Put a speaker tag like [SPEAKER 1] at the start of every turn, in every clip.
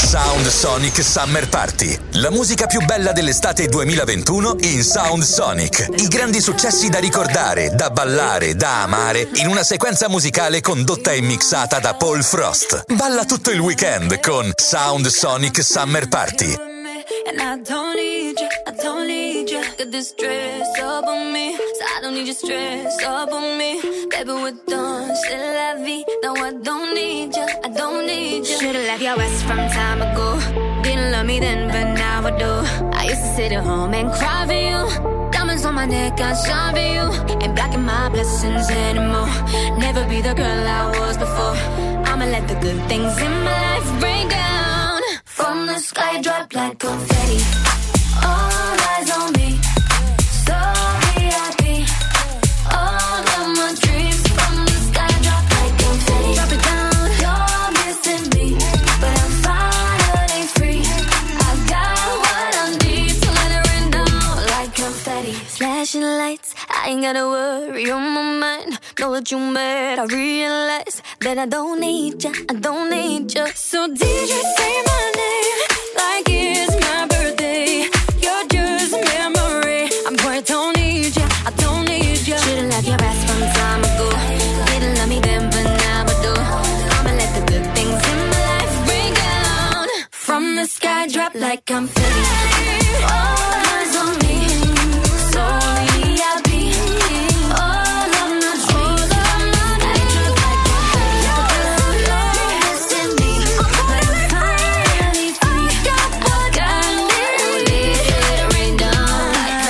[SPEAKER 1] Sound Sonic Summer Party. La musica più bella dell'estate 2021 in Sound Sonic. I grandi successi da ricordare, da ballare, da amare in una sequenza musicale condotta e mixata da Paul Frost. Balla tutto il weekend con Sound Sonic Summer Party.
[SPEAKER 2] And I don't need you, got this dress up on me, so I don't need your stress up on me. Baby, we're done, c'est la vie, no I don't need you. Should've left your ass from time ago, didn't love me then, but now I do. I used to sit at home and cry for you, diamonds on my neck, I shine for you, ain't blocking my blessings anymore, never be the girl I was before, I'ma let the good things in my life break down. From the sky, drop like confetti. All eyes on me. So VIP. All of my dreams. From the sky, drop like confetti. Drop it down. You're missing me, but I'm finally free. I got what I need, so let it rain down like confetti. Flashing lights, I ain't gotta worry on my mind. Know that you mad, I realize that I don't need ya. So DJ, say my name like it's my birthday. You're just a memory. I'm quite don't need ya. Should've left your ass from time ago. Didn't love me then, but now I do. I'ma let the good things in my life bring down. From the sky, drop like confetti. All eyes on me. So VIP. All of my dreams. I drop like confetti. You're missing me, but I'm finally free. I got what I need, let it rain down like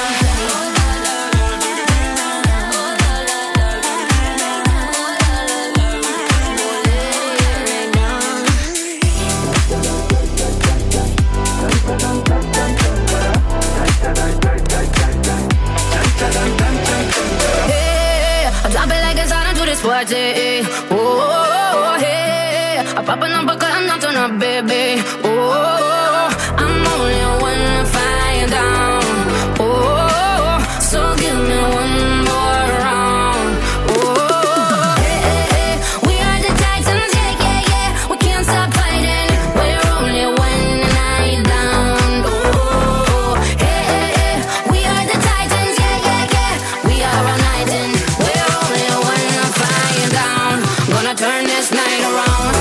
[SPEAKER 3] Hey, I drop it like it's hot into this party. Oh, hey, I pop it up because I'm not turn up, baby. Oh, I'm only one fire down. Oh, so give me one more round. Oh, hey, we are the Titans, yeah. We can't stop fighting. We're only one night down. Oh, hey, we are the Titans, yeah. We are all night in. We're only one fire down. Gonna turn this night around.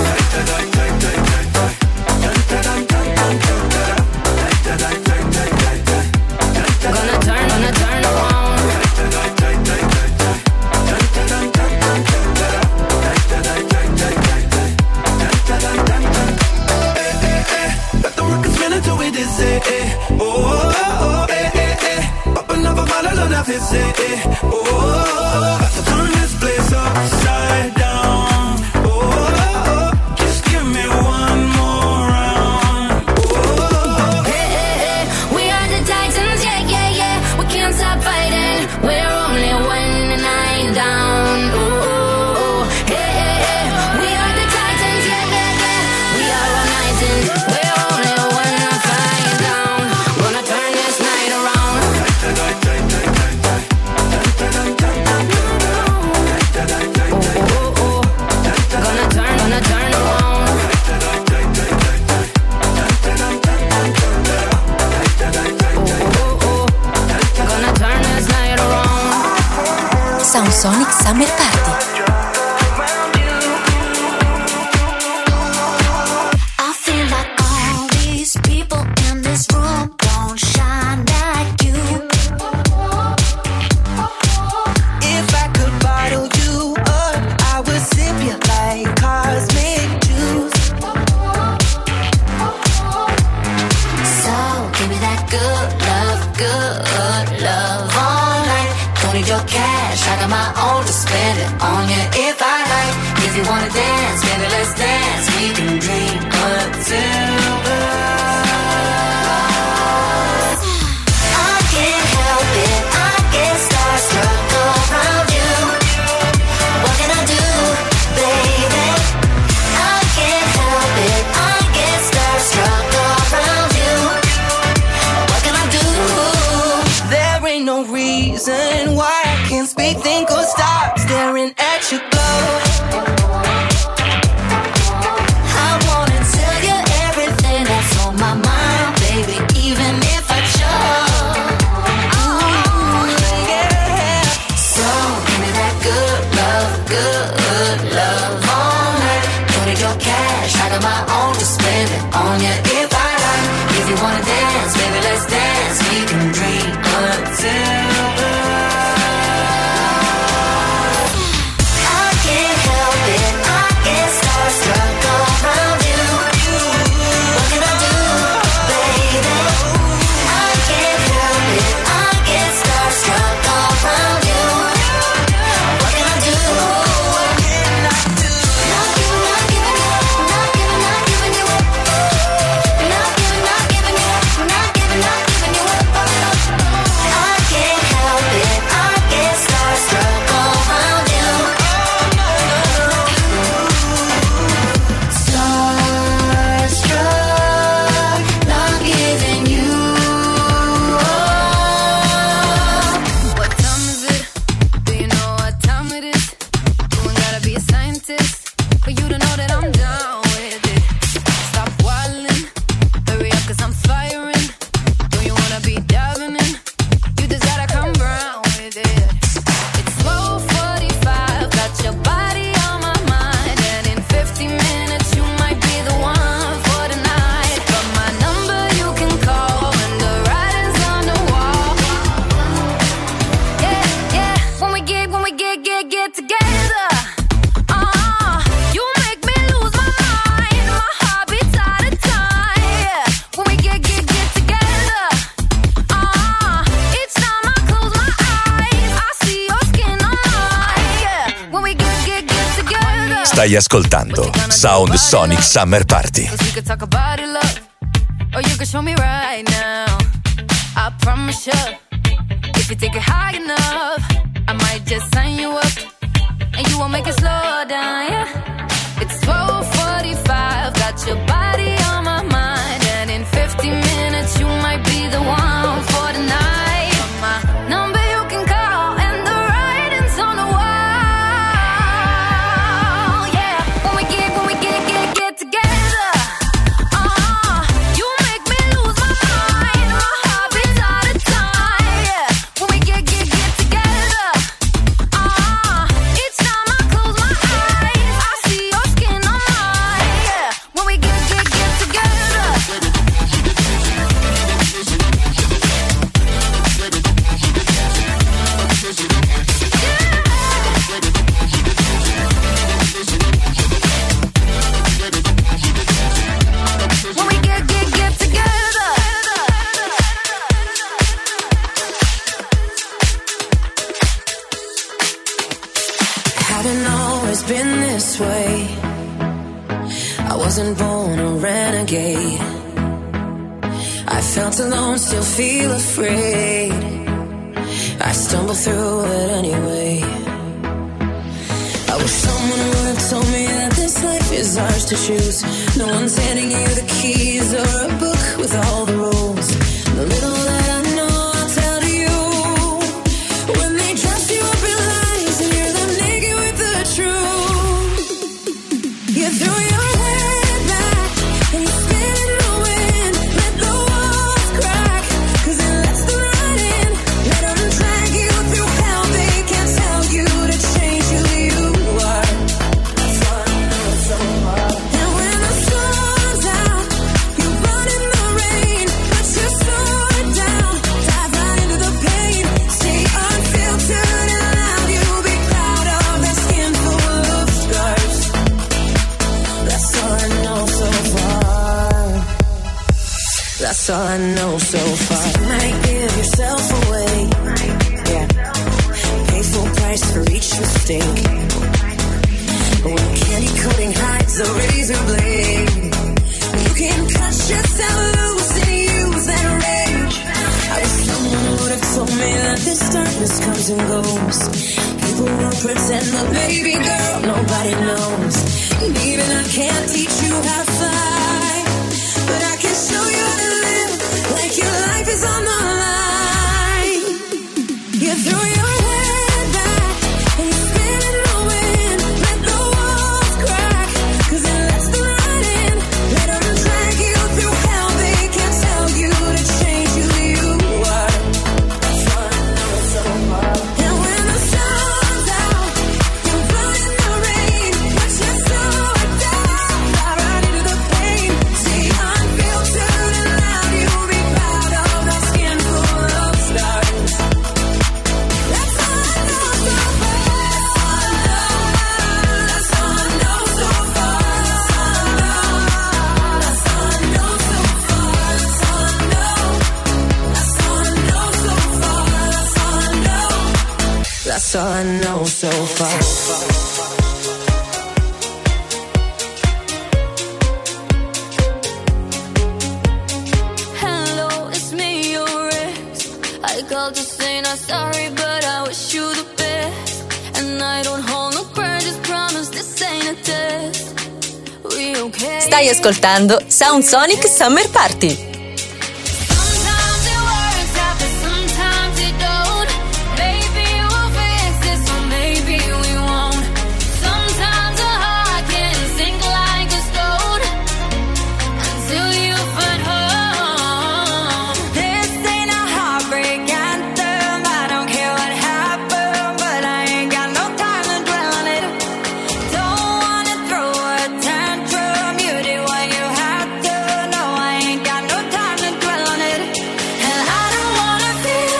[SPEAKER 3] Gonna turn around.
[SPEAKER 4] Let the record spin until we dizzy. Oh, up another bottle of that fizzy. Oh, about to turn this place upside down. Oh, just give me one more round. Oh,
[SPEAKER 3] Hey, we are the Titans, yeah. We can't stop fighting. We're only one night down. Ooh, hey, we are the Titans, yeah. We are all night in. We're only one fight down. Gonna turn this night around. Gonna turn around. Gonna turn this night around.
[SPEAKER 5] Sound Sonic Summer Party.
[SPEAKER 2] I feel like all these people in this room don't shine like you.
[SPEAKER 6] If I could bottle you up, I would sip you like cosmic juice.
[SPEAKER 2] So give me that good love all night. Don't need your cash, I got my own to spend it on you if I like. If you wanna dance, baby, let's dance. We can drink until I can't help it, I get starstruck around you. What can I do, baby? I can't help it, I get starstruck around you. What can I do?
[SPEAKER 6] There ain't no reason why I can't speak, think, or stop staring at you glow.
[SPEAKER 2] I wanna spend it on you if I like. If you wanna dance, baby, let's dance. We can dream until I can't help it, I get starstruck around you. What can I do, baby? I can't help it, I get starstruck around you. What can I do? What can I do? Not giving you up, not giving you up. Not giving you up, giving you up. I can't help it, I get starstruck around you. Starstruck, not giving you up.
[SPEAKER 3] What time is it? Do you know what time it is? You ain't gotta be a scientist for you to know that I'm down with it. Stop wildin', hurry up 'cause I'm firing. Do you wanna be diving in? You just gotta come round with it. It's 12:45, got your body on my mind, and in 50 minutes you might be the one for the night. But my number you can call when the writing's on the wall. Yeah, yeah. When we get together, you make me lose my mind. My heart beats out of time. Yeah. When we get together, each time I close my eyes, I see your skin on mine. Yeah. When we get together.
[SPEAKER 1] Stai ascoltando Sound Sonic Summer Party.
[SPEAKER 3] 'Cause we could talk about it, love, or you could show me right now. I promise you, if you take it high enough, I might just sign you up, and you won't make it slow down, yeah. It's 12:45, got your body on my mind, and in 50 minutes you might be the one for the night. My number you can call, and the writing's on the wall, yeah. When we get together, you make me lose my mind. My heart beats out of time, yeah. When we get together, each time I close my eyes, I see your skin on mine, yeah. When we get together. When we get together.
[SPEAKER 6] Hadn't always been this way. I wasn't born a renegade. I felt alone, still feel afraid. I stumble through it anyway. I wish someone would have told me that this life is ours to choose. No one's handing you the keys or a book with all the rules. The little that I know I'll tell to you. When they dress you up in lies and you're them naked with the truth. You threw your head back and you spin in the wind. Let the walls crack 'cause it lets them right in. Let them drag you through hell. They can't tell you to change who you are. That's all I know so far. And when the sun's out, you run in the rain. Put your sword down, dive right into the pain. Stay unfiltered and loud. You'll be proud of that skin full of scars. That's all I know so far. That's all I know so far. You might give yourself away. Yeah. Pay full price for each mistake. But when candy coating hides the razor blade, you can cut yourself loose and use that rage. I wish someone would have told me that this darkness comes and goes. People will pretend, but baby girl, nobody knows. And even I can't teach you how to fly, but I can show you how to live like your life is on the line. You threw your head back and you spin in the wind. Let the walls crack 'cause it lets them right in. Let them drag you through hell. They can't tell you to change who you are. That's all I know so far. And when the sun's out, you run in the rain. Put your sword down. That's all I know so far.
[SPEAKER 2] I called to say not sorry, but I wish you the best. And I don't hold no grudges, promise this ain't a test. We okay?
[SPEAKER 5] Stai ascoltando Sound Sonic Summer Party.
[SPEAKER 2] Sometimes it works out, but sometimes it don't. Maybe we'll fix this, or maybe we won't. Sometimes a heart can sink like a stone until you find home. This ain't a heartbreak anthem. I don't care what happened, but I ain't got no time to dwell on it. Don't wanna throw a tantrum. You did what you had to. No, I ain't got no time to dwell on it. And I don't wanna feel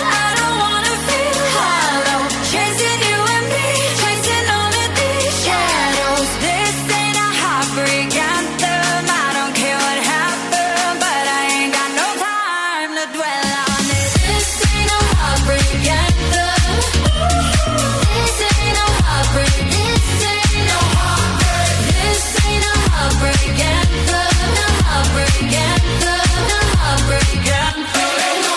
[SPEAKER 2] hollow. Chasing you and me, chasing all of these shadows. This ain't a heartbreak anthem. I don't care what happened, but I ain't got no time to dwell on it. This ain't a heartbreak anthem. This ain't a heartbreak. This ain't no heartbreak. This ain't a heartbreak anthem. A heartbreak anthem. A heartbreak anthem.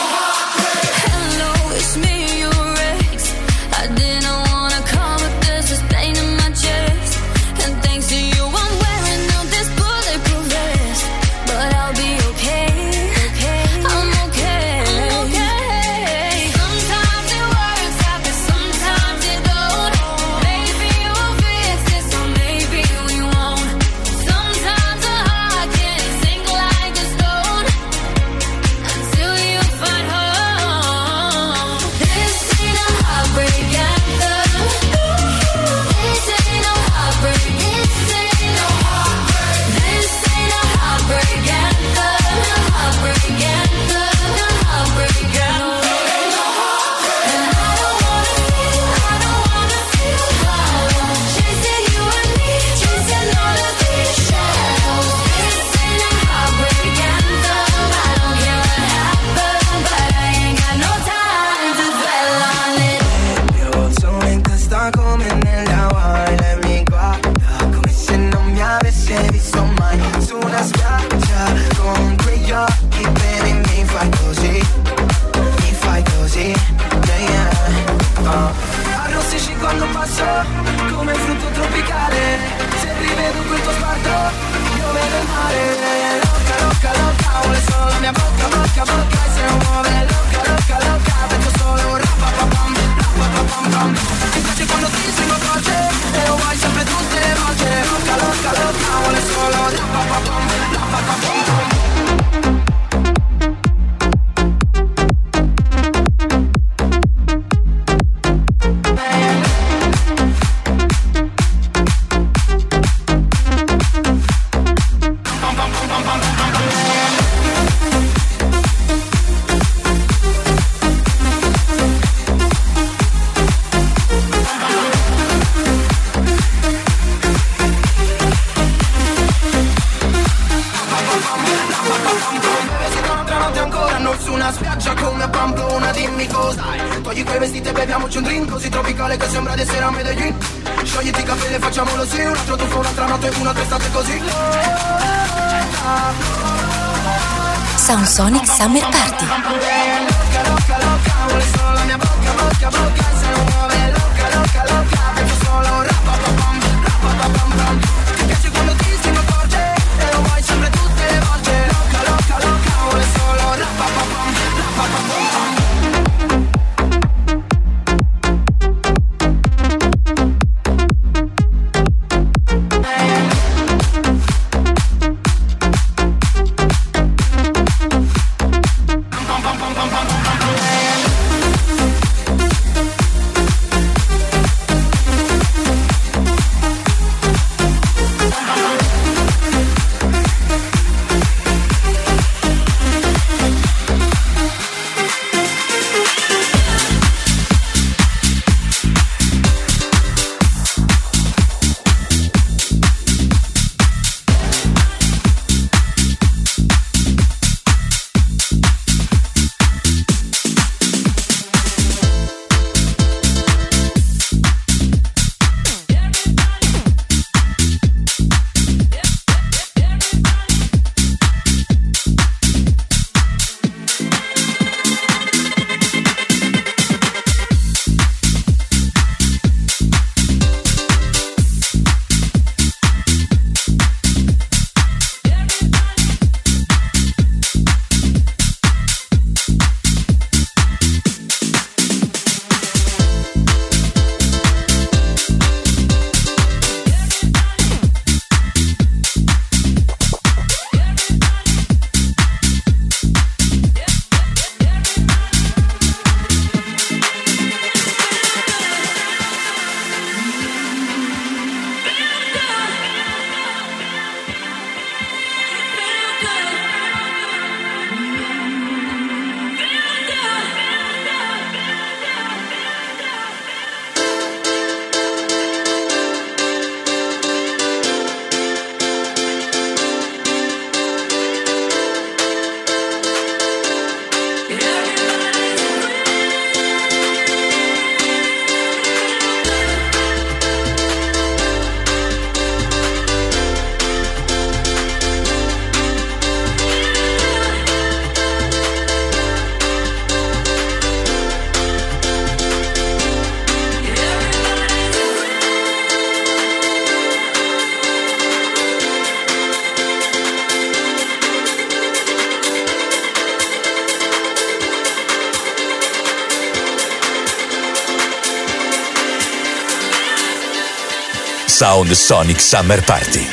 [SPEAKER 2] Hello, it's me, your ex. I didn't wanna call, but there's this pain in my chest. And thanks to you, I'm wearing out this bulletproof vest. But I'll be okay. I'm okay. Sometimes it works out, but sometimes it don't. Maybe we'll fix this, or maybe we won't. Sometimes a heart can sink like a stone until you find home. This ain't a heartbreak anthem. This ain't no heartbreak. This ain't no heartbreak. This ain't a heartbreak anthem. A heartbreak anthem. A heartbreak anthem. And I don't wanna feel hollow. Chasing you and me, chasing all of these shadows. This ain't a heartbreak anthem. I don't care what happened, but I ain't got no time to dwell on it.
[SPEAKER 4] Io sono in testa come nell'acqua e lei mi guarda come se non mi avesse visto mai su una spiaggia con quegli occhi, baby, mi fai così, yeah, yeah. Arrossisci quando passo come frutto tropicale, se rivedo quel tuo sguardo io vedo il mare. Loca, vuole solo la mia bocca, e se non muove loca, penso solo rapapapam. Ti piace quando ti stringo forte e lo vuoi sempre tutte le volte. Loca, vuole solo rapapapam. Su una spiaggia come a Pamplona, dimmi cos'hai. Togli quei vestiti e beviamoci un drink così tropicale che sembra di essere a Medellin. Sciogliti i capelli e facciamolo sì, un altro tuffo, un'altra notte, una estate così.
[SPEAKER 5] Sound Sonic Summer Party.
[SPEAKER 4] Loca, vuole solo la mia bocca, e se non muove loca, penso solo rapapapam. Ti piace quando ti stringo forte e lo vuoi sempre tutte le volte. Loca, vuole solo rapapapam.
[SPEAKER 1] Sound Sonic Summer Party.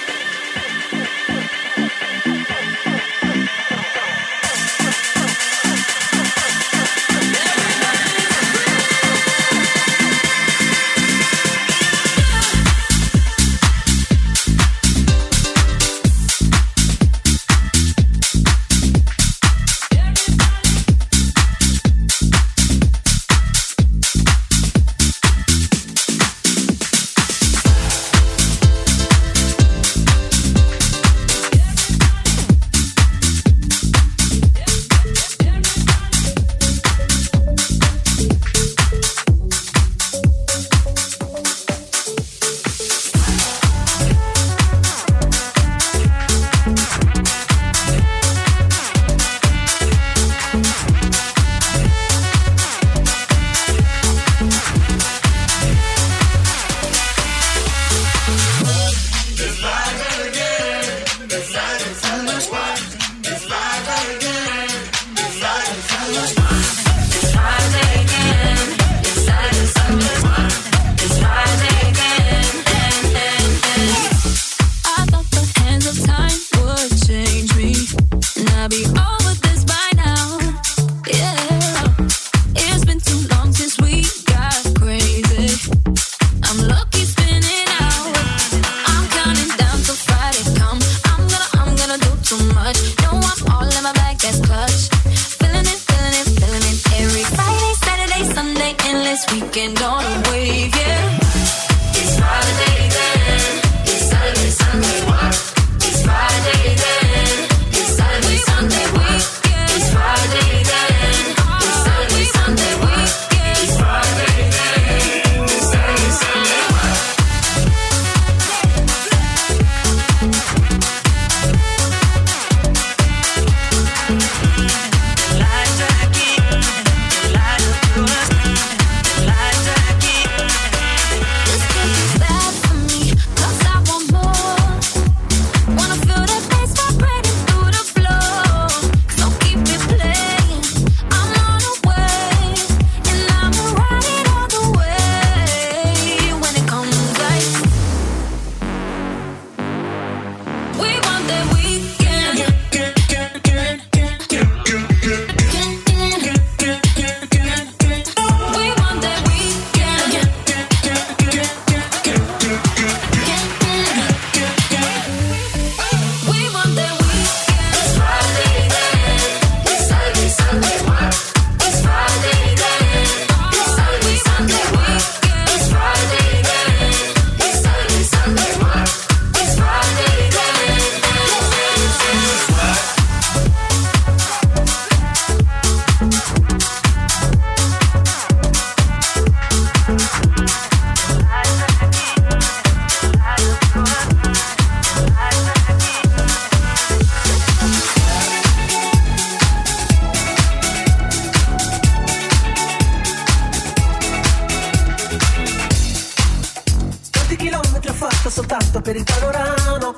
[SPEAKER 7] soltanto per il panorama.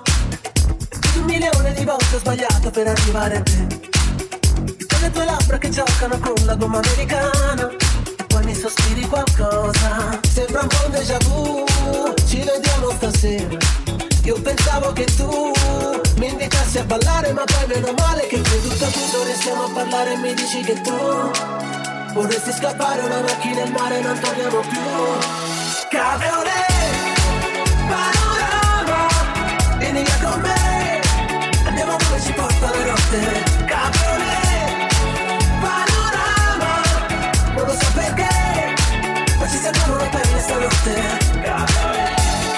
[SPEAKER 7] 1 milione di volte ho sbagliato per arrivare a te. Con le tue labbra che giocano con la gomma americana. E poi mi sospiri qualcosa. Sembra un po' un déjà vu. Ci vediamo stasera. Io pensavo che tu mi invitassi a ballare, ma poi meno male che qui tutto chiuso, restiamo a parlare e mi dici che tu vorresti scappare una macchina in mare, non torniamo più. Cabriolet, panorama, vieni via con me, andiamo dove ci porta la notte. Cabriolet, panorama, non lo so perché, ma ci sentiamo una pelle stanotte. Cabriolet.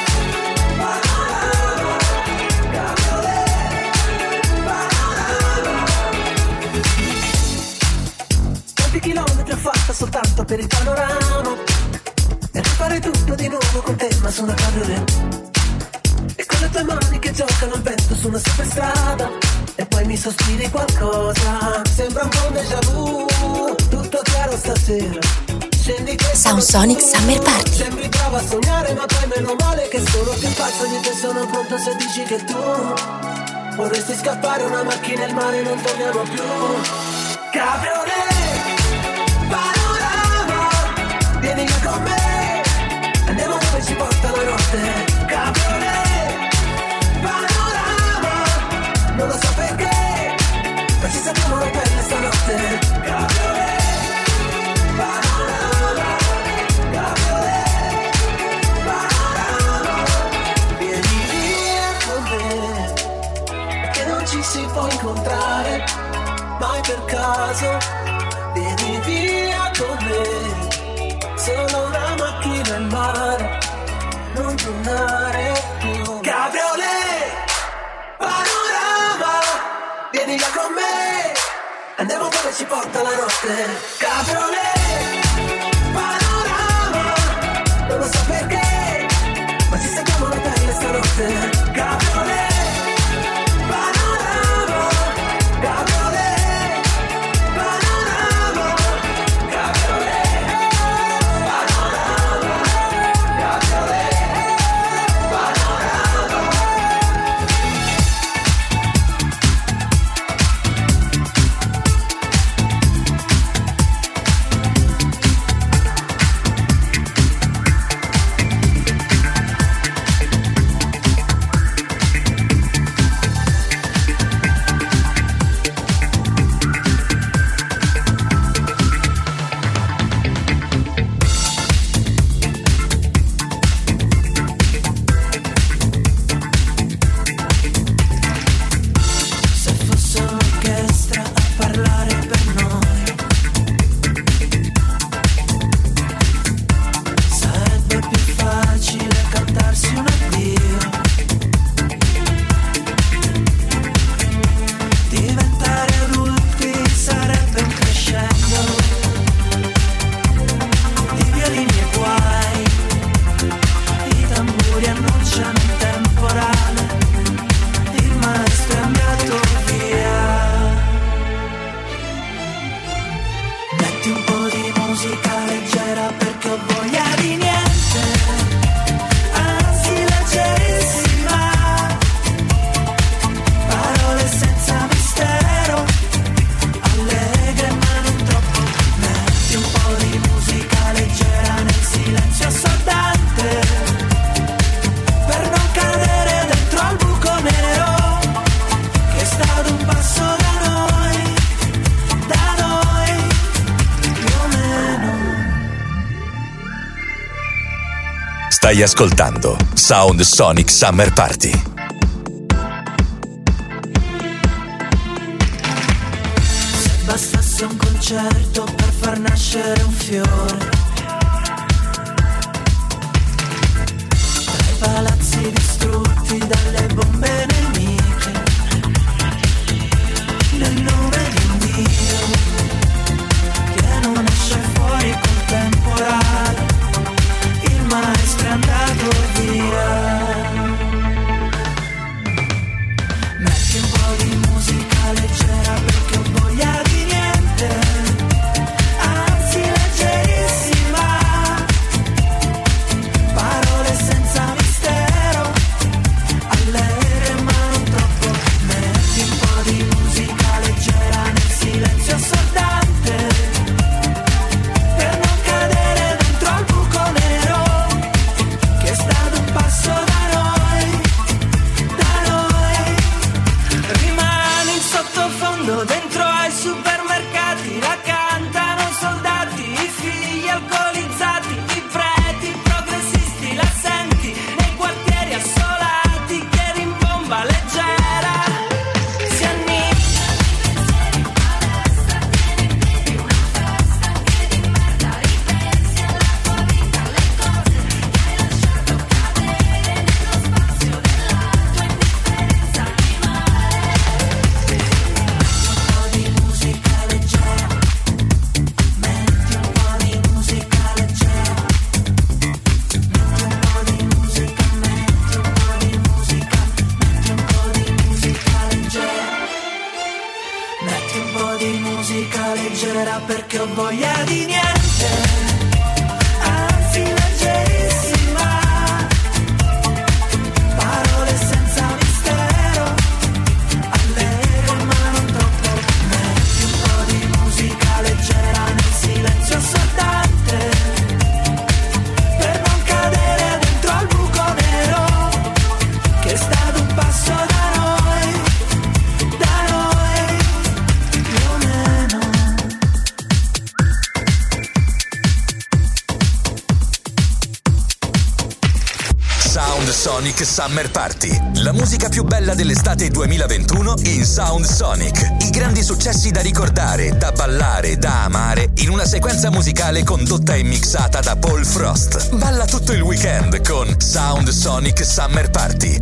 [SPEAKER 7] Chilometri ho fatto soltanto per il panorama e rifare tutto di nuovo con te, ma su una cabriolet. E con le tue mani che giocano al vento su una superstrada. E poi mi sospiri qualcosa. Sembra un po' un déjà vu. Tutto chiaro stasera. Scendi che
[SPEAKER 5] Sound Sonic Summer Party.
[SPEAKER 7] Sembri brava a sognare, ma poi meno male che sono più pazzo di te. Sono pronto se dici che tu vorresti scappare una macchina al mare, non torniamo più. Cabriolet, panorama, vieni via con me, andiamo dove ci porta la notte. mare, mai per caso, vieni via con me, solo una macchina in mare, non tornare più. Cabriolet, panorama, vieni via con me, andiamo dove ci porta la notte. Cabriolet, panorama, non lo so perché, ma ci sentiamo la pelle stanotte. Cabriolet, panorama, cabriolet, panorama, cabriolet, panorama, cabriolet, panorama.
[SPEAKER 1] Stai ascoltando Sound Sonic Summer Party.
[SPEAKER 6] Se bastasse un concerto per far nascere un fiore, tra i palazzi distrutti dalle bombe nemiche, nel nome di un Dio che non esce fuori col temporale, il maestro è andato via. Metti un po' di musica leggera perché ho voglia di niente, anzi leggerissima, parole senza mistero, allegre ma non troppo. Metti un po' di musica leggera nel silenzio assordante, per non cadere dentro al buco nero che sta ad un passo da noi, rimani in sottofondo dentro ai supermercati, la cantano soldati, i figli alcolizzati, i preti progressisti, la senti nei quartieri assolati che rimbomba leggera, si annicchia. Metti un po' di musica leggera perché ho voglia di niente, anzi leggerissima, parole senza mistero, allegre ma non troppo. Metti un po' di musica leggera nel silenzio assordante, per non cadere dentro al buco nero che sta ad un passo da noi, più o meno.
[SPEAKER 1] Sonic Summer Party. La musica più bella dell'estate 2021 in Sound Sonic. I grandi successi da ricordare, da ballare, da amare, in una sequenza musicale condotta e mixata da Paul Frost. Balla tutto il weekend con Sound Sonic Summer Party.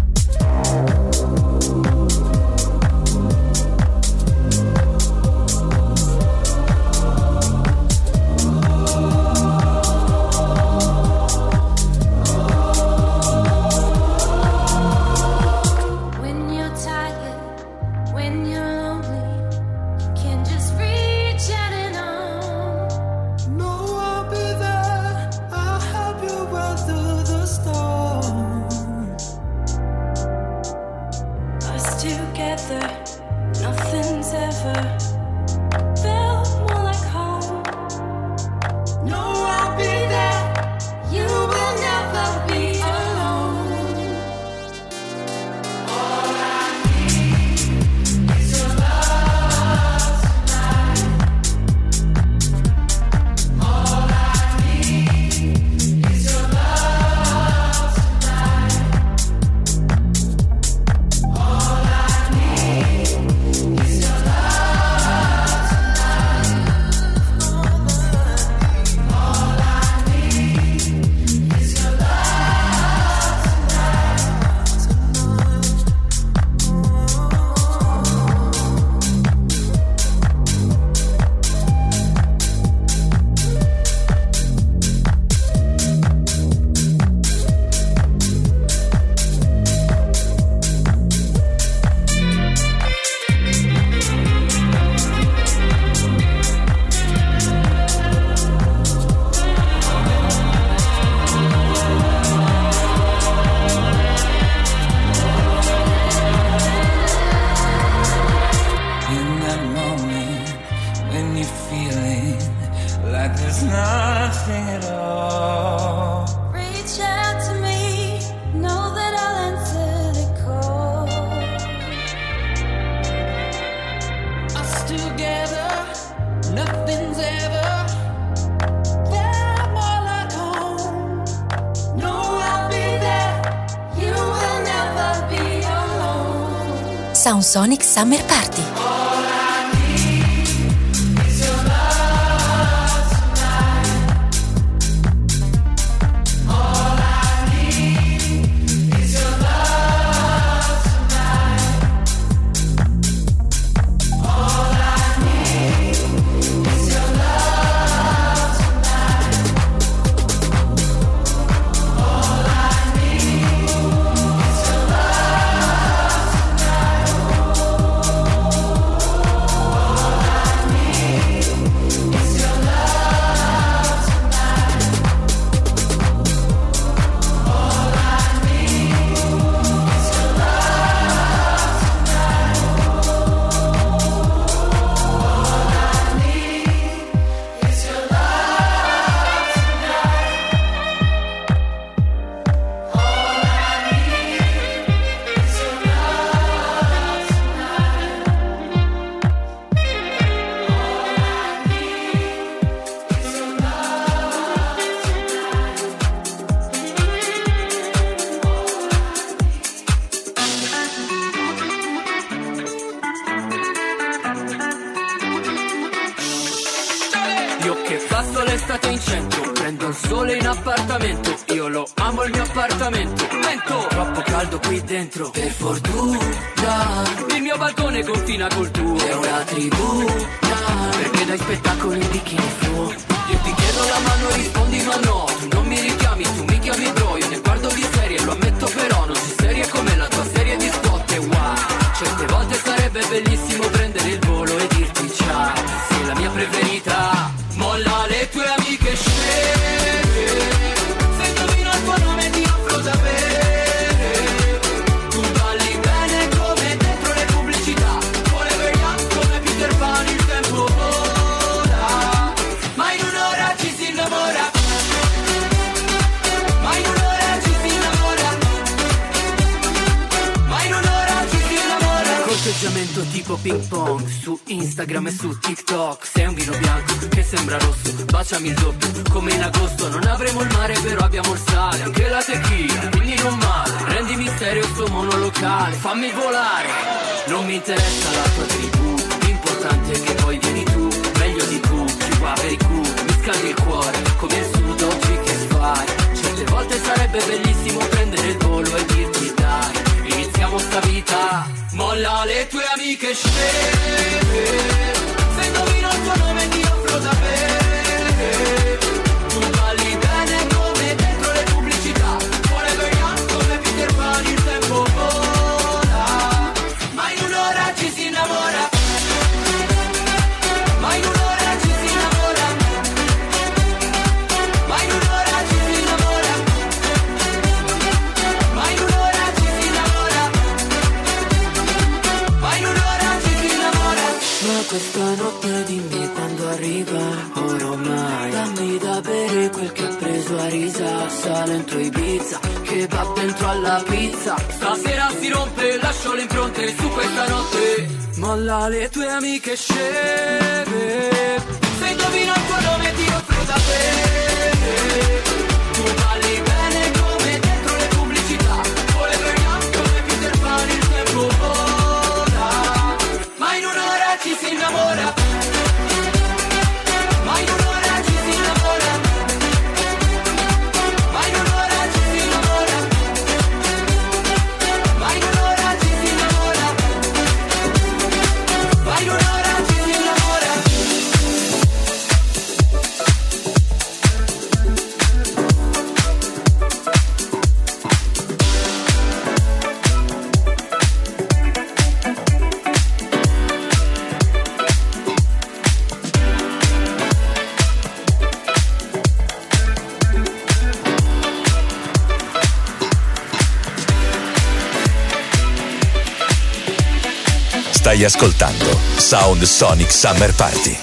[SPEAKER 5] Sound Sonic Summer Party.
[SPEAKER 8] Io che passo l'estate in centro, prendo il sole in appartamento. Io lo amo il mio appartamento. Vento, troppo caldo qui dentro, per fortuna. Il mio balcone confina col tuo, è una tribuna, perché dai spettacolo in bikini flu. Io ti chiedo la mano e rispondi ma no. Tu non mi richiami, tu mi chiami bro. Io ne guardo di serie, lo ammetto però non sei serie come la tua serie di spot. E wow, certe volte sarebbe bellissimo prendere il volo e dirti ciao. Sei la mia preferita. Molla le tue amiche sceme, se indovino il tuo nome ti offro da bere. Tu balli bene come dentro le pubblicità, forever young come Peter Pan, il tempo vola, ma in un'ora ci si innamora, ma in un'ora ci si innamora, tipo ping pong su Instagram e su TikTok. Sei un vino bianco che sembra rosso, baciami il doppio come in agosto. Non avremo il mare però abbiamo il sale, anche la tequila, quindi non male. Rendi misterio sto monolocale, fammi volare. Non mi interessa la tua tribù, l'importante è che poi vieni tu, meglio di tu, più qua per i cu. Mi scaldi il cuore come il sud, oggi che fai? Certe volte sarebbe bellissimo prendere il volo e dirti dai, iniziamo sta vita. Molla le tue amiche sceme, se indovino il tuo nome ti offro da bere. Tu balli bene come dentro le pubblicità, forever young come Peter Pan, il tempo vola, ma in un'ora ci si innamora. Ma in un'ora ci si innamora. Ma in un'ora ci si innamora. Ma in un'ora ci si innamora. Ma in un'ora ci si innamora. Ma questa notte dimmi quando arriva, ormai dammi da bere quel che ha preso a risa. Salento Ibiza, che va dentro alla pizza. Stasera si rompe, lascio le impronte su questa notte. Molla le tue amiche sceme, se indovino il tuo nome ti offro da bere. Tu balli bene come dentro le pubblicità, forever young come Peter Pan, il tempo vola, ma in un'ora ci si innamora. Ma in un'ora ci si innamora. Ma in un'ora ci si innamora. Ma in un'ora ci si innamora. Ma in un'ora ci si innamora.
[SPEAKER 1] Stai ascoltando Sound Sonic Summer Party.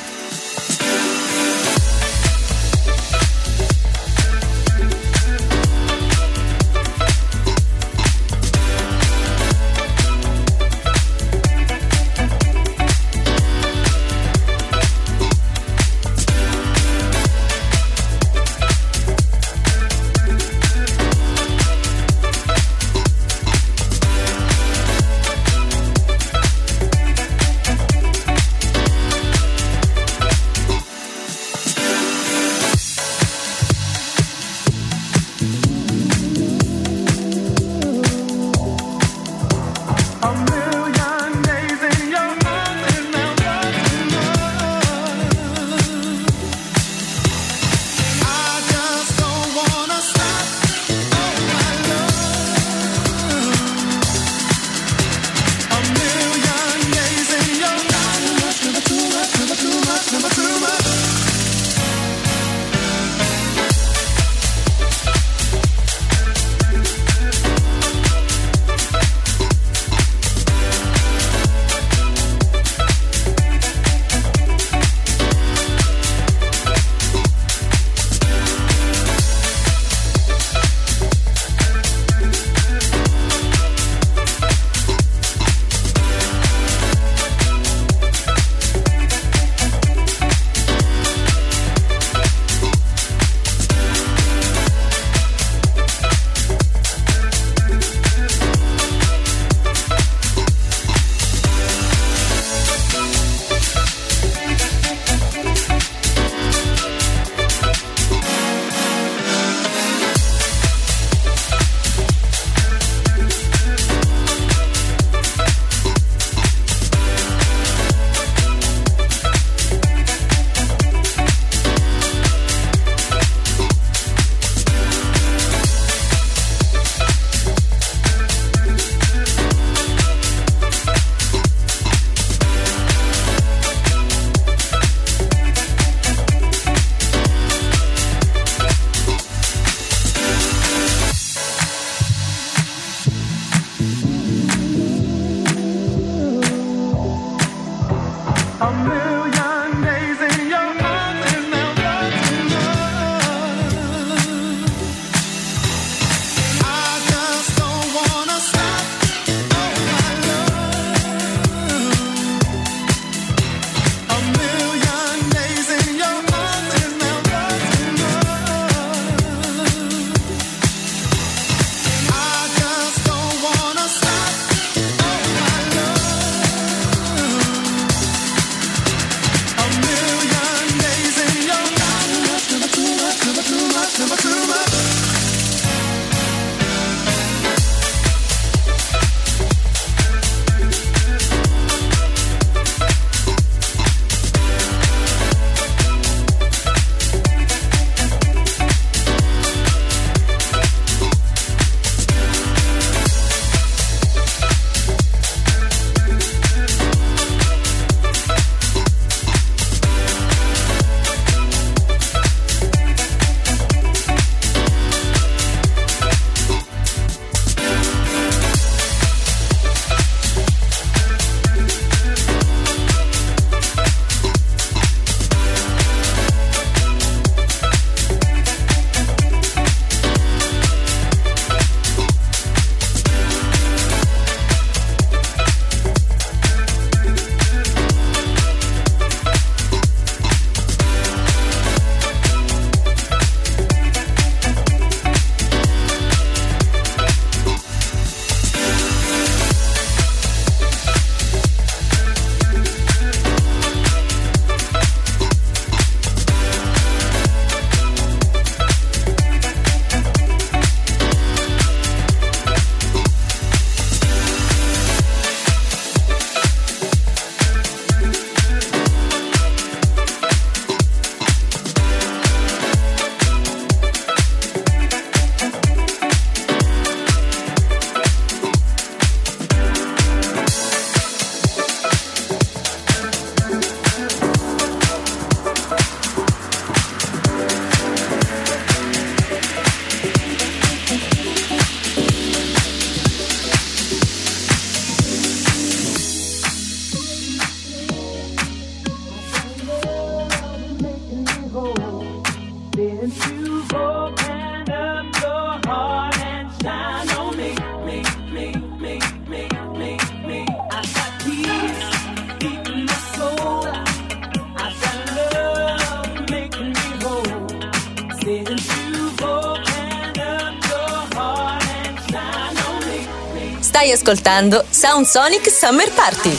[SPEAKER 5] Stai ascoltando Sound Sonic Summer Party.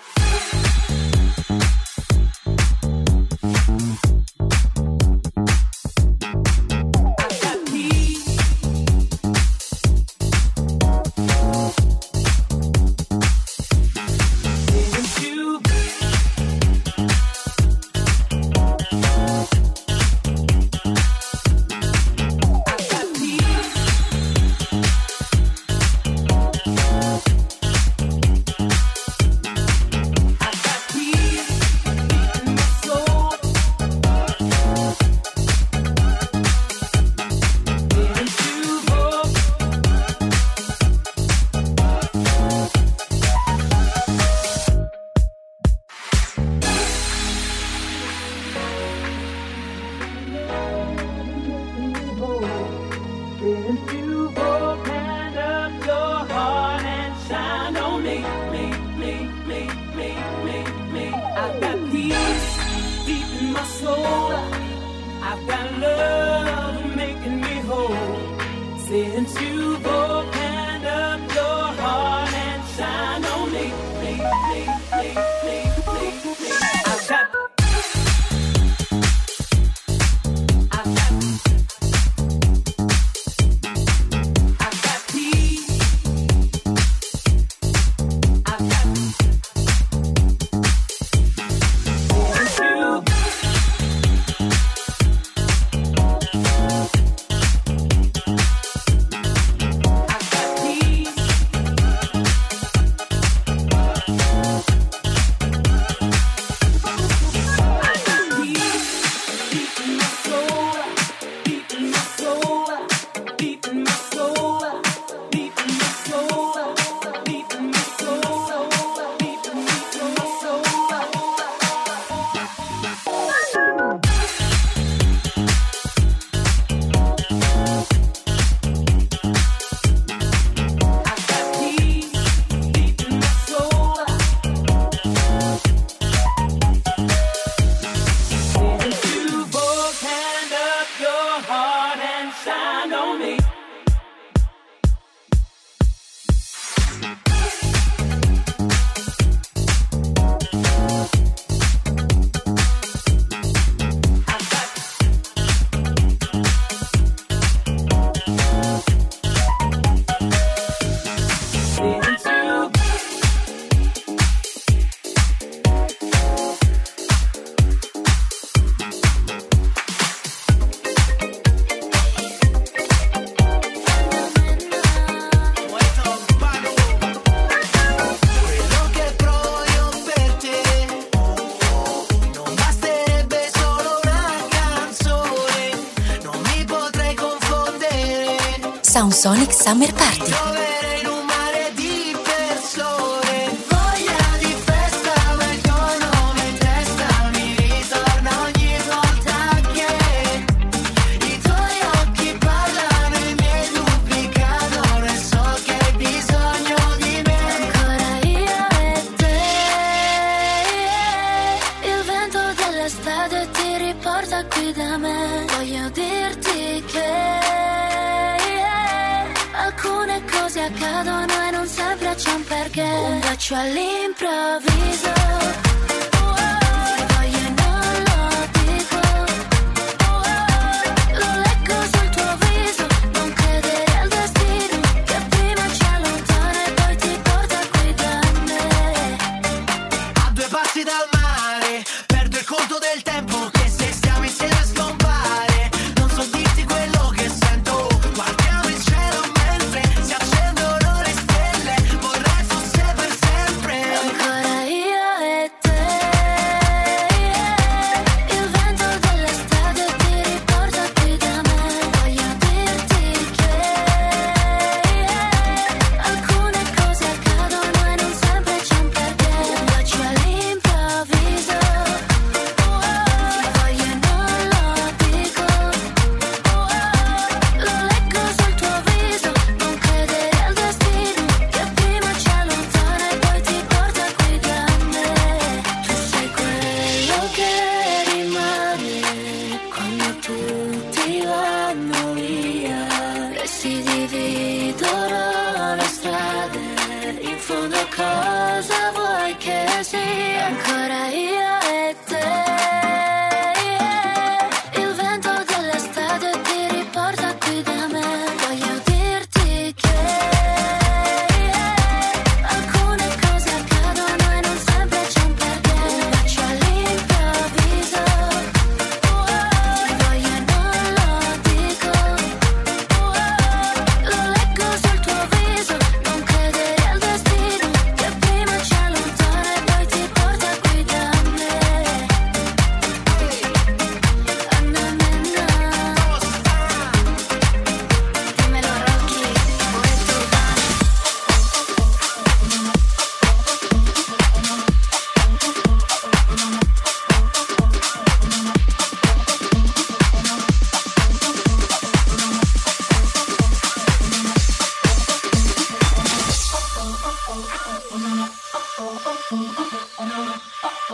[SPEAKER 5] Sound Sonic Summer Party.
[SPEAKER 2] All'improvviso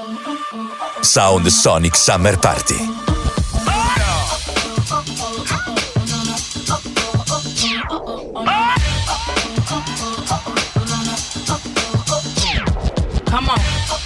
[SPEAKER 1] Sound Sonic Summer Party.
[SPEAKER 3] Come on.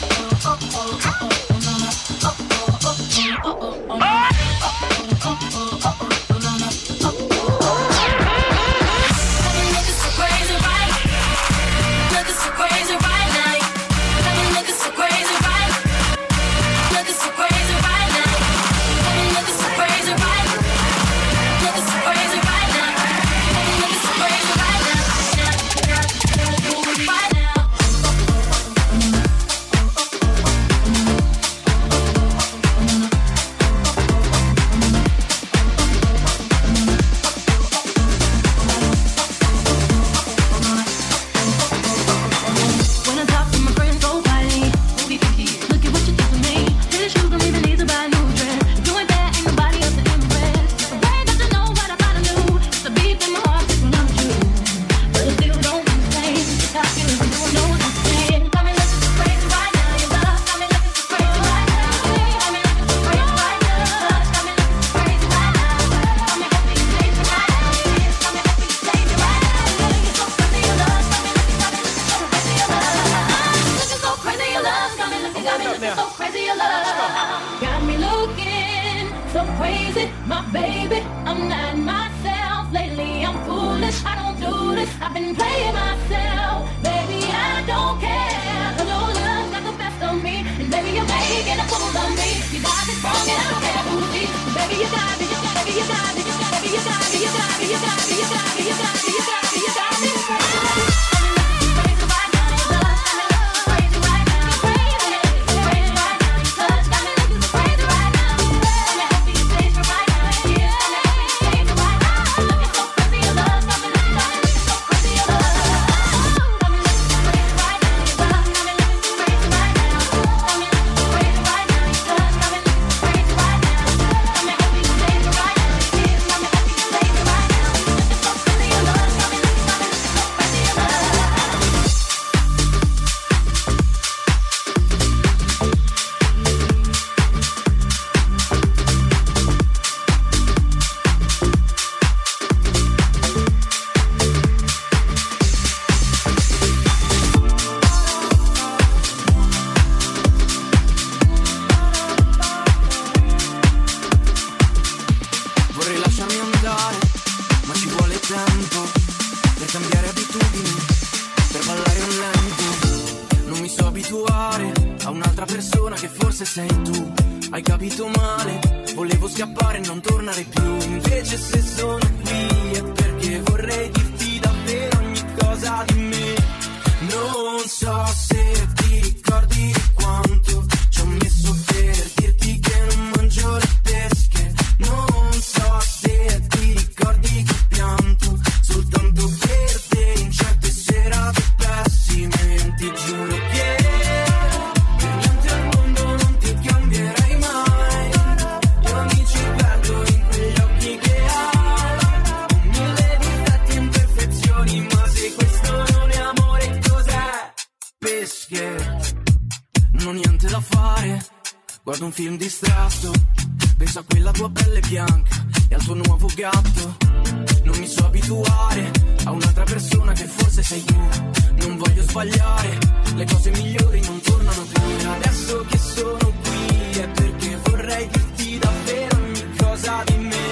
[SPEAKER 9] Guardo un film distratto, penso a quella tua pelle bianca e al tuo nuovo gatto. Non mi so abituare a un'altra persona che forse sei tu. Non voglio sbagliare, le cose migliori non tornano più. E adesso che sono qui è perché vorrei dirti davvero ogni cosa di me.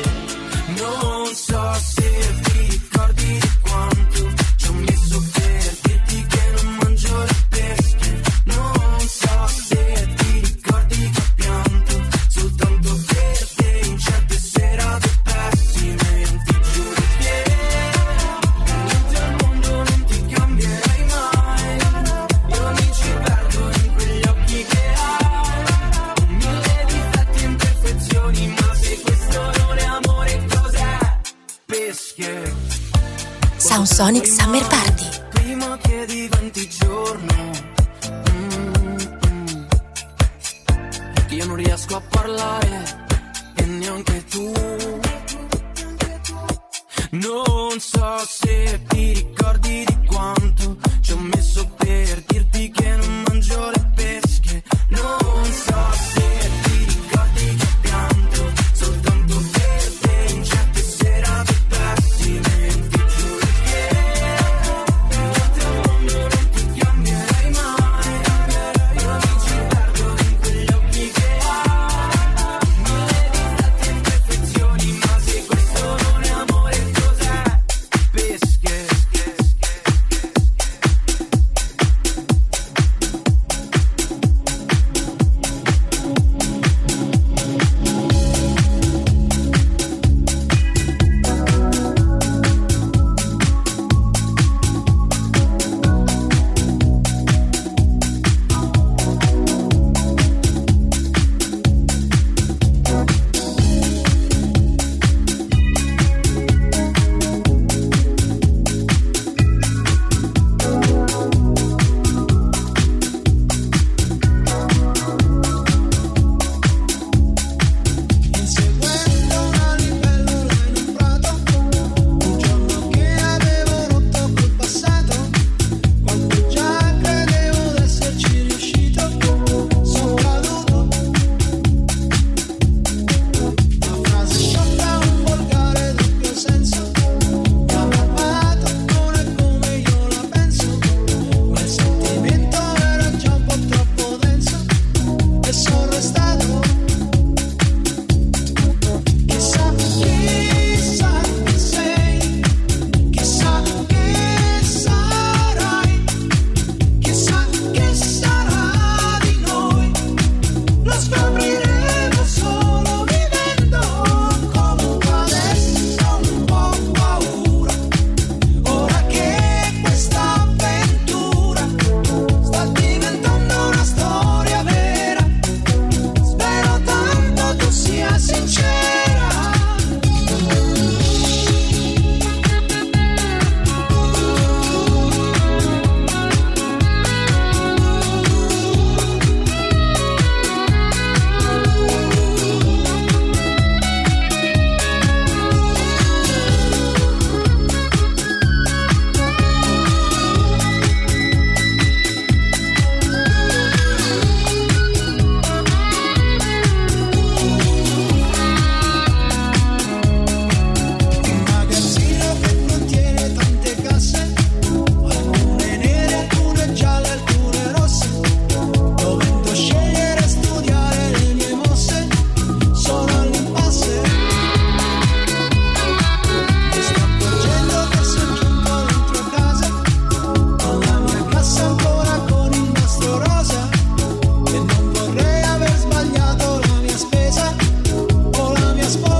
[SPEAKER 9] Non so se ti ricordi di quanto ci ho messo per dirti che non mangio le pesche. Non so se ti ricordi che ho pianto soltanto per te in certe serate pessime. Non ti giuro che niente al mondo non ti cambierai mai. Io mi ci perdo in quegli occhi che hai, con mille difetti e imperfezioni, ma se questo non è amore cos'è? Pesche.
[SPEAKER 5] Sound Sonic Summer Party.
[SPEAKER 9] Prima che diventi giorno, che io non riesco a parlare e neanche tu. Non so se ti ricordi di quanto ci ho messo per dirti che non mangio le pesche. Non so se ti ricordi che pianto soltanto per te in certe serate pessime. Ti giuro che niente al mondo non ti cambierei mai. Io mi ci perdo in quegli occhi che hai, mille difetti e imperfezioni, ma se questo non è amore cos'è? Pesche.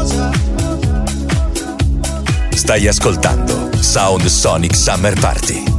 [SPEAKER 1] Stai ascoltando Sound Sonic Summer Party.